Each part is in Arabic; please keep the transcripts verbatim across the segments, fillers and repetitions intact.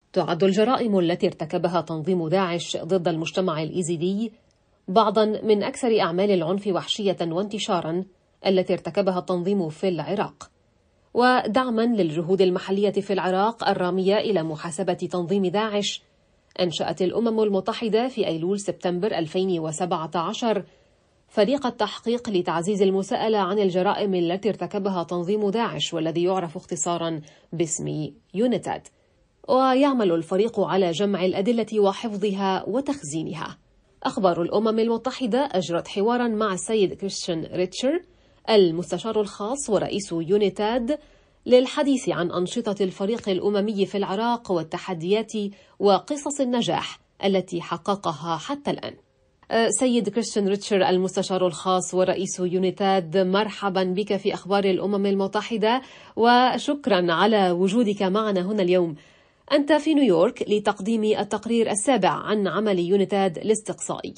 تعد الجرائم التي ارتكبها تنظيم داعش ضد المجتمع الإيزيدي بعضا من أكثر أعمال العنف وحشية وانتشارا التي ارتكبها التنظيم في العراق. ودعما للجهود المحلية في العراق الرامية إلى محاسبة تنظيم داعش، أنشأت الأمم المتحدة في أيلول سبتمبر ألفين وسبعة عشر فريق التحقيق لتعزيز المساءلة عن الجرائم التي ارتكبها تنظيم داعش، والذي يعرف اختصارا باسم يونيتاد. ويعمل الفريق على جمع الأدلة وحفظها وتخزينها. أخبار الأمم المتحدة أجرت حوارا مع السيد كريستيان ريتشر المستشار الخاص ورئيس يونيتاد للحديث عن أنشطة الفريق الأممي في العراق والتحديات وقصص النجاح التي حققها حتى الآن. سيد كريستيان ريتشر المستشار الخاص ورئيس يونيتاد، مرحبا بك في أخبار الأمم المتحدة وشكرا على وجودك معنا هنا اليوم. أنت في نيويورك لتقديم التقرير السابع عن عمل يونيتاد الاستقصائي،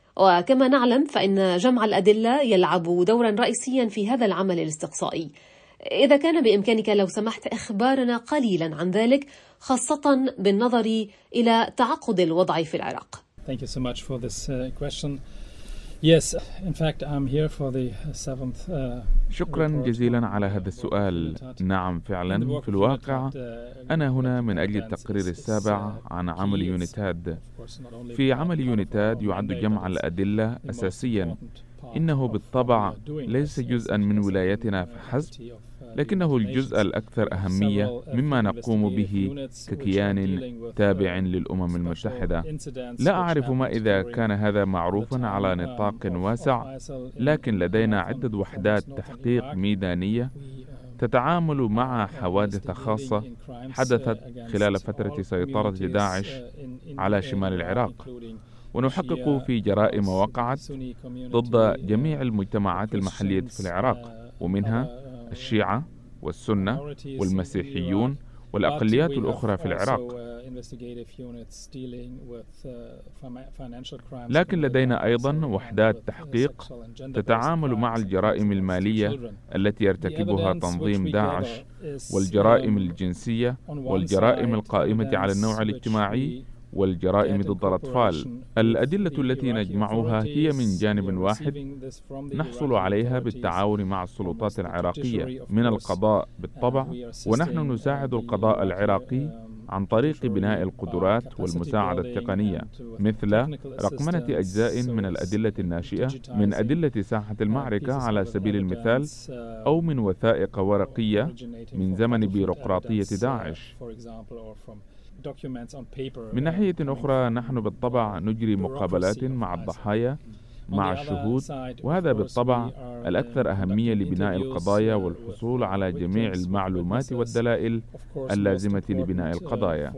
وكما نعلم فإن جمع الأدلة يلعب دورا رئيسيا في هذا العمل الاستقصائي. إذا كان بإمكانك لو سمحت إخبارنا قليلا عن ذلك، خاصة بالنظر إلى تعقد الوضع في العراق. Thank you so much for this uh, question. Yes, in fact, I'm here for the seventh. Uh, شكرا جزيلا على هذا السؤال. نعم فعلا، في الواقع أنا هنا من أجل التقرير السابع عن عمل يونيتاد. في عمل يونيتاد يعد جمع الأدلة أساسيا. إنه بالطبع ليس جزءا من ولايتنا فحسب، لكنه الجزء الأكثر أهمية مما نقوم به ككيان تابع للأمم المتحدة. لا أعرف ما إذا كان هذا معروفا على نطاق واسع، لكن لدينا عدة وحدات تحقيق ميدانية تتعامل مع حوادث خاصة حدثت خلال فترة سيطرة داعش على شمال العراق، ونحقق في جرائم وقعت ضد جميع المجتمعات المحلية في العراق، ومنها الشيعة والسنة والمسيحيون والأقليات الأخرى في العراق. لكن لدينا أيضا وحدات تحقيق تتعامل مع الجرائم المالية التي يرتكبها تنظيم داعش، والجرائم الجنسية، والجرائم القائمة على النوع الاجتماعي، والجرائم ضد الأطفال. الأدلة التي نجمعها هي من جانب واحد نحصل عليها بالتعاون مع السلطات العراقية من القضاء بالطبع، ونحن نساعد القضاء العراقي عن طريق بناء القدرات والمساعدة التقنية، مثل رقمنة أجزاء من الأدلة الناشئة من أدلة ساحة المعركة على سبيل المثال، أو من وثائق ورقية من زمن بيروقراطية داعش. من ناحية أخرى نحن بالطبع نجري مقابلات مع الضحايا مع الشهود، وهذا بالطبع الأكثر أهمية لبناء القضايا والحصول على جميع المعلومات والدلائل اللازمة لبناء القضايا.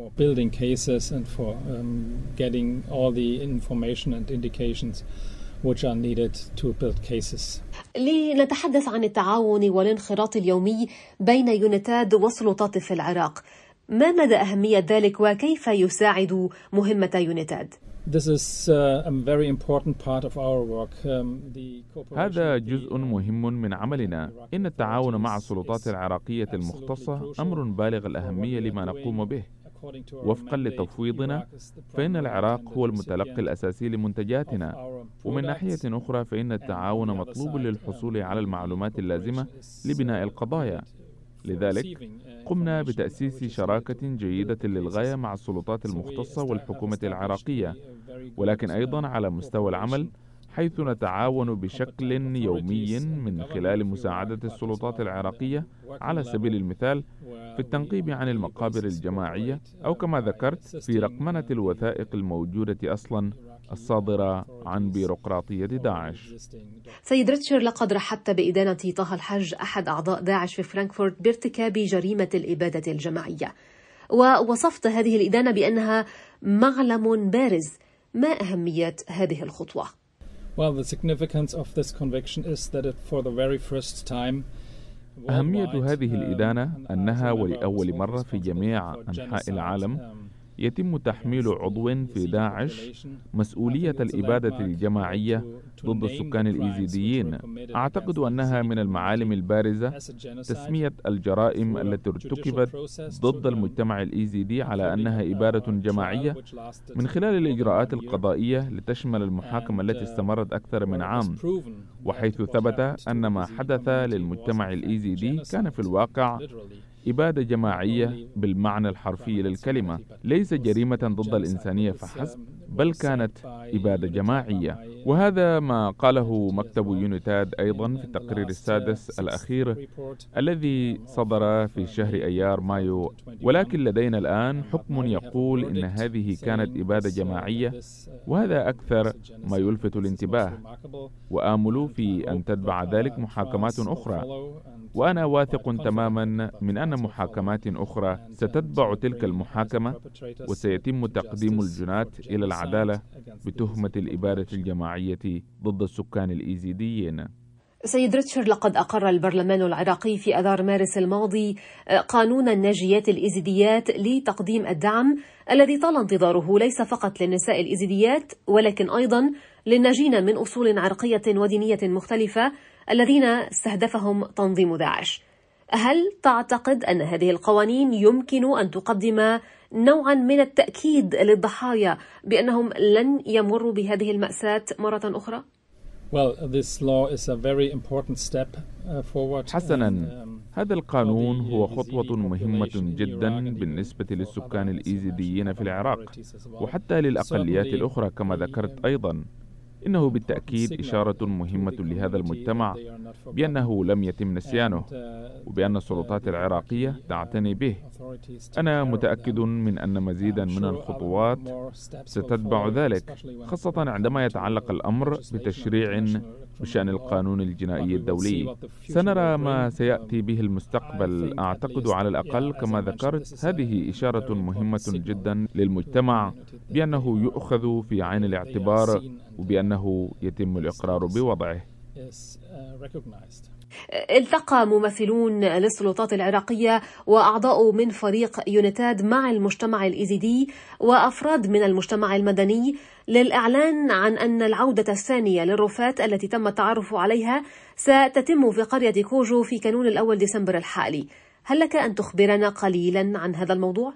لنتحدث عن التعاون والانخراط اليومي بين يونيتاد والسلطات في العراق، ما مدى أهمية ذلك وكيف يساعد مهمة يونيتاد؟ هذا جزء مهم من عملنا. إن التعاون مع السلطات العراقية المختصة أمر بالغ الأهمية لما نقوم به. وفقا لتفويضنا فإن العراق هو المتلقي الأساسي لمنتجاتنا، ومن ناحية أخرى فإن التعاون مطلوب للحصول على المعلومات اللازمة لبناء القضايا. لذلك قمنا بتأسيس شراكة جيدة للغاية مع السلطات المختصة والحكومة العراقية، ولكن أيضا على مستوى العمل، حيث نتعاون بشكل يومي من خلال مساعدة السلطات العراقية على سبيل المثال في التنقيب عن المقابر الجماعية، أو كما ذكرت في رقمنة الوثائق الموجودة أصلا الصادرة عن بيروقراطية داعش. سيد ريتشر، لقد رحبت بإدانة طه الحج أحد أعضاء داعش في فرانكفورت بارتكاب جريمة الإبادة الجماعية، ووصفت هذه الإدانة بأنها معلم بارز. ما أهمية هذه الخطوة؟ Well, the significance of this conviction is that it for the very first time أهمية هذه الإدانة أنها ولأول مرة في جميع أنحاء العالم يتم تحميل عضو في داعش مسؤولية الإبادة الجماعية ضد السكان الإيزيديين. أعتقد أنها من المعالم البارزة تسمية الجرائم التي ارتكبت ضد المجتمع الإيزيدي على أنها إبادة جماعية من خلال الإجراءات القضائية لتشمل المحاكمة التي استمرت أكثر من عام، وحيث ثبت أن ما حدث للمجتمع الإيزيدي كان في الواقع إبادة جماعية بالمعنى الحرفي للكلمة، ليس جريمة ضد الإنسانية فحسب، بل كانت إبادة جماعية. وهذا ما قاله مكتب يونيتاد أيضا في التقرير السادس الأخير الذي صدر في شهر أيار مايو. ولكن لدينا الآن حكم يقول إن هذه كانت إبادة جماعية، وهذا أكثر ما يلفت الانتباه، وآمل في أن تتبع ذلك محاكمات أخرى. وأنا واثق تماما من أن محاكمات أخرى ستتبع تلك المحاكمة، وسيتم تقديم الجنات إلى العدالة بتهمة الإبادة الجماعية ضد السكان الإيزيديين. سيد ريتشارد، لقد أقر البرلمان العراقي في آذار مارس الماضي قانون الناجيات الإيزيديات لتقديم الدعم الذي طال انتظاره ليس فقط للنساء الإيزيديات ولكن أيضا للناجين من أصول عرقية ودينية مختلفة الذين استهدفهم تنظيم داعش. هل تعتقد أن هذه القوانين يمكن أن تقدم نوعا من التأكيد للضحايا بأنهم لن يمروا بهذه المأساة مرة أخرى؟ حسنا، هذا القانون هو خطوة مهمة جدا بالنسبة للسكان الإيزيديين في العراق وحتى للأقليات الأخرى كما ذكرت أيضا. إنه بالتأكيد إشارة مهمة لهذا المجتمع بأنه لم يتم نسيانه وبأن السلطات العراقية تعتني به. أنا متأكد من أن مزيدا من الخطوات ستتبع ذلك، خاصة عندما يتعلق الأمر بتشريع بشأن القانون الجنائي الدولي. سنرى ما سيأتي به المستقبل. أعتقد على الأقل كما ذكرت هذه إشارة مهمة جدا للمجتمع بأنه يؤخذ في عين الاعتبار وبأنه يتم الإقرار بوضعه. التقى ممثلون للسلطات العراقية وأعضاء من فريق يونيتاد مع المجتمع الإيزيدي وأفراد من المجتمع المدني للإعلان عن أن العودة الثانية للرفات التي تم التعرف عليها ستتم في قرية كوجو في كانون الأول ديسمبر الحالي. هل لك أن تخبرنا قليلا عن هذا الموضوع؟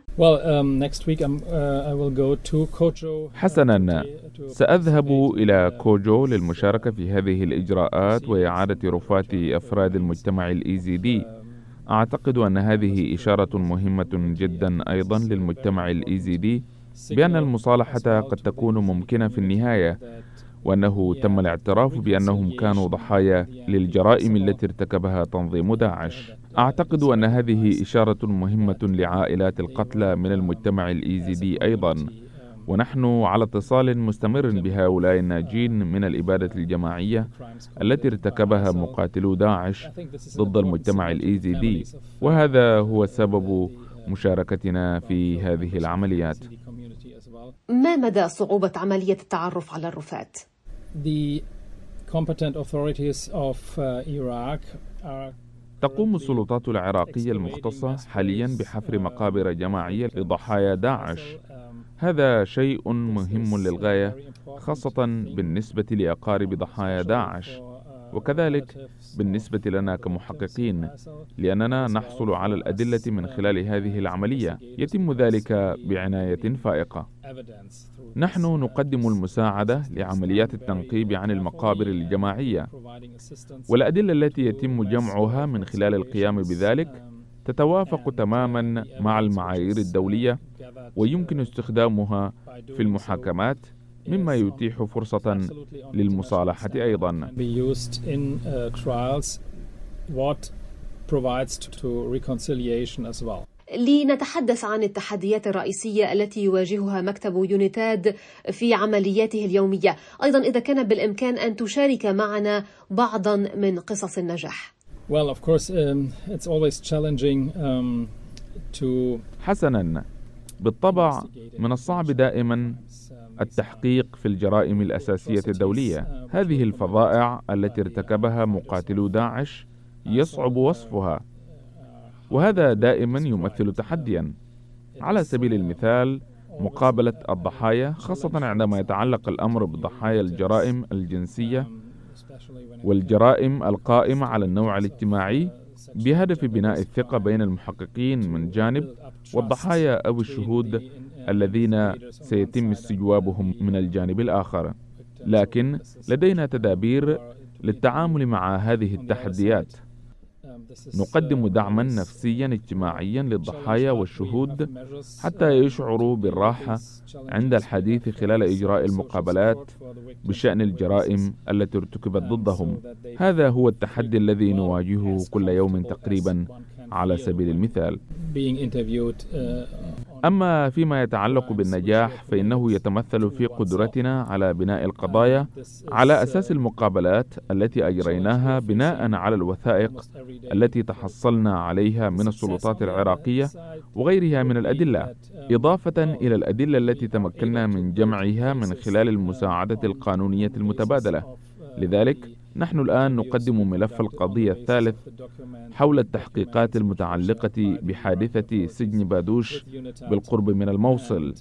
حسنا، سأذهب إلى كوجو للمشاركة في هذه الإجراءات وإعادة رفات أفراد المجتمع الإيزيدي. أعتقد أن هذه إشارة مهمة جدا أيضا للمجتمع الإيزيدي بأن المصالحة قد تكون ممكنة في النهاية، وأنه تم الاعتراف بأنهم كانوا ضحايا للجرائم التي ارتكبها تنظيم داعش. أعتقد أن هذه إشارة مهمة لعائلات القتلى من المجتمع الإيزيدي أيضا، ونحن على اتصال مستمر بهؤلاء الناجين من الإبادة الجماعية التي ارتكبها مقاتلو داعش ضد المجتمع الإيزيدي، وهذا هو سبب مشاركتنا في هذه العمليات. ما مدى صعوبة عملية التعرف على الرفات؟ تقوم السلطات العراقية المختصة حاليا بحفر مقابر جماعية لضحايا داعش. هذا شيء مهم للغاية، خاصة بالنسبة لأقارب ضحايا داعش، وكذلك بالنسبة لنا كمحققين، لأننا نحصل على الأدلة من خلال هذه العملية. يتم ذلك بعناية فائقة. نحن نقدم المساعدة لعمليات التنقيب عن المقابر الجماعية، والأدلة التي يتم جمعها من خلال القيام بذلك تتوافق تماما مع المعايير الدولية ويمكن استخدامها في المحاكمات، مما يتيح فرصة للمصالحة أيضا. لنتحدث عن التحديات الرئيسية التي يواجهها مكتب يونيتاد في عملياته اليومية. أيضا إذا كان بالإمكان أن تشارك معنا بعضا من قصص النجاح. Well, of course, um, it's always challenging um, to حسنا، بالطبع من الصعب دائما التحقيق في الجرائم الأساسية الدولية. هذه الفظائع التي ارتكبها مقاتلو داعش يصعب وصفها، وهذا دائما يمثل تحديا. على سبيل المثال، مقابلة الضحايا، خاصة عندما يتعلق الأمر بضحايا الجرائم الجنسية والجرائم القائمة على النوع الاجتماعي، بهدف بناء الثقة بين المحققين من جانب والضحايا أو الشهود الذين سيتم استجوابهم من الجانب الآخر. لكن لدينا تدابير للتعامل مع هذه التحديات. نقدم دعما نفسيا اجتماعيا للضحايا والشهود حتى يشعروا بالراحة عند الحديث خلال إجراء المقابلات بشأن الجرائم التي ارتكبت ضدهم. هذا هو التحدي الذي نواجهه كل يوم تقريبا على سبيل المثال. أما فيما يتعلق بالنجاح فإنه يتمثل في قدرتنا على بناء القضايا على أساس المقابلات التي أجريناها بناء على الوثائق التي تحصلنا عليها من السلطات العراقية وغيرها من الأدلة، إضافة إلى الأدلة التي تمكنا من جمعها من خلال المساعدة القانونية المتبادلة. لذلك نحن الآن نقدم ملف القضية الثالث حول التحقيقات المتعلقة بحادثة سجن بادوش بالقرب من الموصل.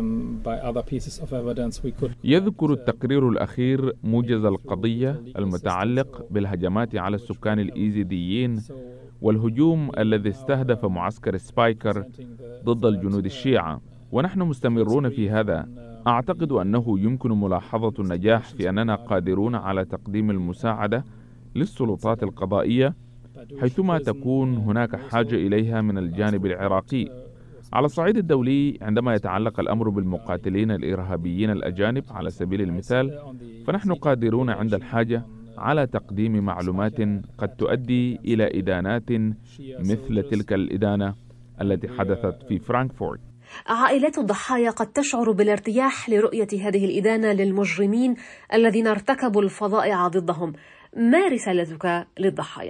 يذكر التقرير الأخير موجز القضية المتعلق بالهجمات على السكان الإيزيديين والهجوم الذي استهدف معسكر سبايكر ضد الجنود الشيعة، ونحن مستمرون في هذا. أعتقد أنه يمكن ملاحظة النجاح في أننا قادرون على تقديم المساعدة للسلطات القضائية حيثما تكون هناك حاجة إليها من الجانب العراقي. على الصعيد الدولي، عندما يتعلق الأمر بالمقاتلين الإرهابيين الأجانب على سبيل المثال، فنحن قادرون عند الحاجة على تقديم معلومات قد تؤدي إلى إدانات مثل تلك الإدانة التي حدثت في فرانكفورت. عائلات الضحايا قد تشعر بالارتياح لرؤية هذه الإدانة للمجرمين الذين ارتكبوا الفظائع ضدهم. ما رسالتك للضحايا؟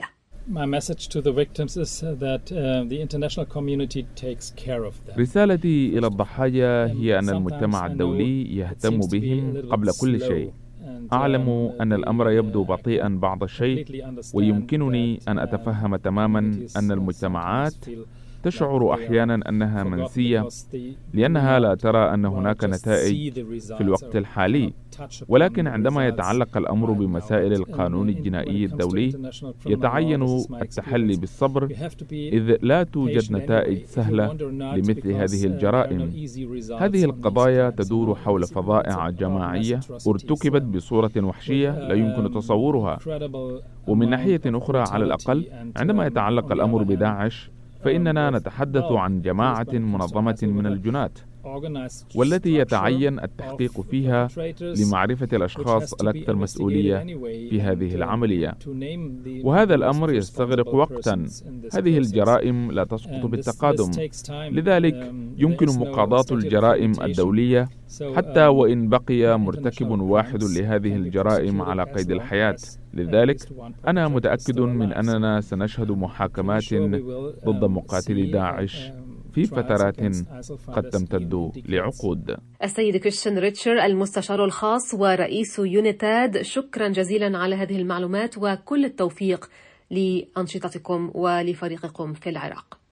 رسالتي إلى الضحايا هي أن المجتمع الدولي يهتم بهم قبل كل شيء. أعلم أن الأمر يبدو بطيئا بعض الشيء، ويمكنني أن أتفهم تماما أن المجتمعات تشعر أحيانا أنها منسية لأنها لا ترى أن هناك نتائج في الوقت الحالي. ولكن عندما يتعلق الأمر بمسائل القانون الجنائي الدولي يتعين التحلي بالصبر، إذ لا توجد نتائج سهلة لمثل هذه الجرائم. هذه القضايا تدور حول فظائع جماعية ارتكبت بصورة وحشية لا يمكن تصورها. ومن ناحية أخرى، على الأقل عندما يتعلق الأمر بداعش فإننا نتحدث عن جماعة منظمة من الجنات، والتي يتعين التحقيق فيها لمعرفة الأشخاص الأكثر مسؤولية في هذه العملية، وهذا الأمر يستغرق وقتا. هذه الجرائم لا تسقط بالتقادم، لذلك يمكن مقاضاة الجرائم الدولية حتى وإن بقي مرتكب واحد لهذه الجرائم على قيد الحياة. لذلك أنا متأكد من أننا سنشهد محاكمات ضد مقاتلي داعش في فترات قد تمتد لعقود. السيد كريستيان ريتشر، المستشار الخاص ورئيس يونيتاد، شكرا جزيلا على هذه المعلومات وكل التوفيق لأنشطتكم ولفريقكم في العراق.